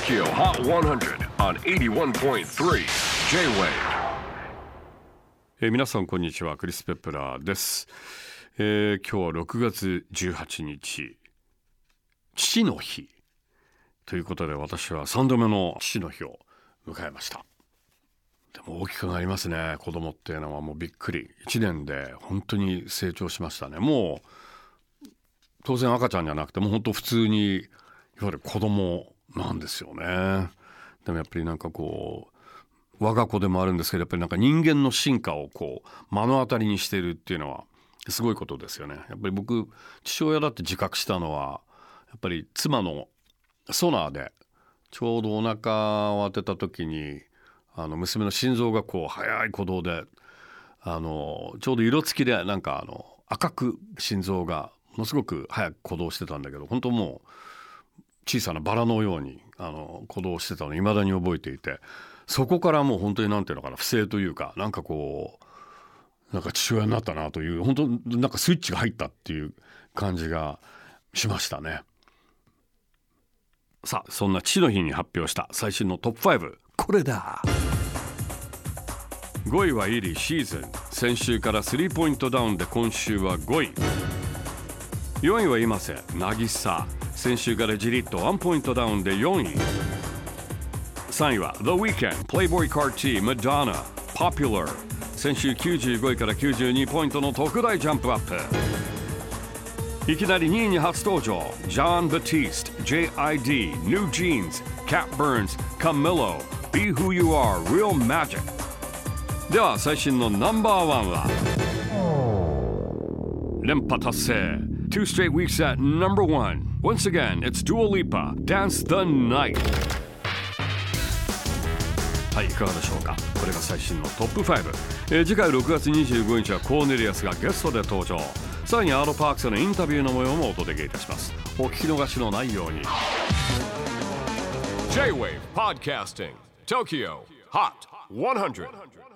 TOKYO HOT 100 on 81.3 J-WAVE、 皆さんこんにちは、クリス・ペプラーです。今日は6月18日父の日ということで、私は3度目の父の日を迎えました。でも大きくなりますね。子供っていうのはもうびっくり、1年で本当に成長しましたね。もう当然赤ちゃんじゃなくて、もう本当普通にいわゆる子供なんですよね。でもやっぱりなんかこう我が子でもあるんですけど、やっぱりなんか人間の進化をこう目の当たりにしているっていうのはすごいことですよね。やっぱり僕、父親だって自覚したのは、やっぱり妻のソナーでちょうどお腹を当てた時に、娘の心臓がこう速い鼓動で、ちょうど色付きでなんか赤く心臓がものすごく早く鼓動してたんだけど、本当もう小さなバラのように鼓動してたのを未だに覚えていて、そこからもう本当になんていうのかな、不正というか、なんかこうなんか父親になったなという、本当なんかスイッチが入ったっていう感じがしましたね。さあ、そんな父の日に発表した最新のトップ5、これだ。5位はイリーシーズン、先週から3ポイントダウンで今週は5位。4位は今瀬渚、先週からじりっと1ポイントダウンで4位。3位は The Weeknd Playboy Carti Madonna Popular、 先週95位から92ポイントの特大ジャンプアップ。いきなり2位に初登場、ジョン・バティスト、 JID、 New Jeans、 Cat Burns、 Camilo、 Be Who You Are、 Real Magic。 では最新のナンバーワンは連覇達成、 Two straight weeks at number one. Once again, it's Dua Lipa, Dance the Night。 はい、いかがでしょうか。これが最新のトップ5。次回6月25日はコーネリアスがゲストで登場。さらにアーロパークスのインタビューの模様もお届けいたします。お聞き逃しのないように。 J-WAVE PODCASTING TOKYO HOT 100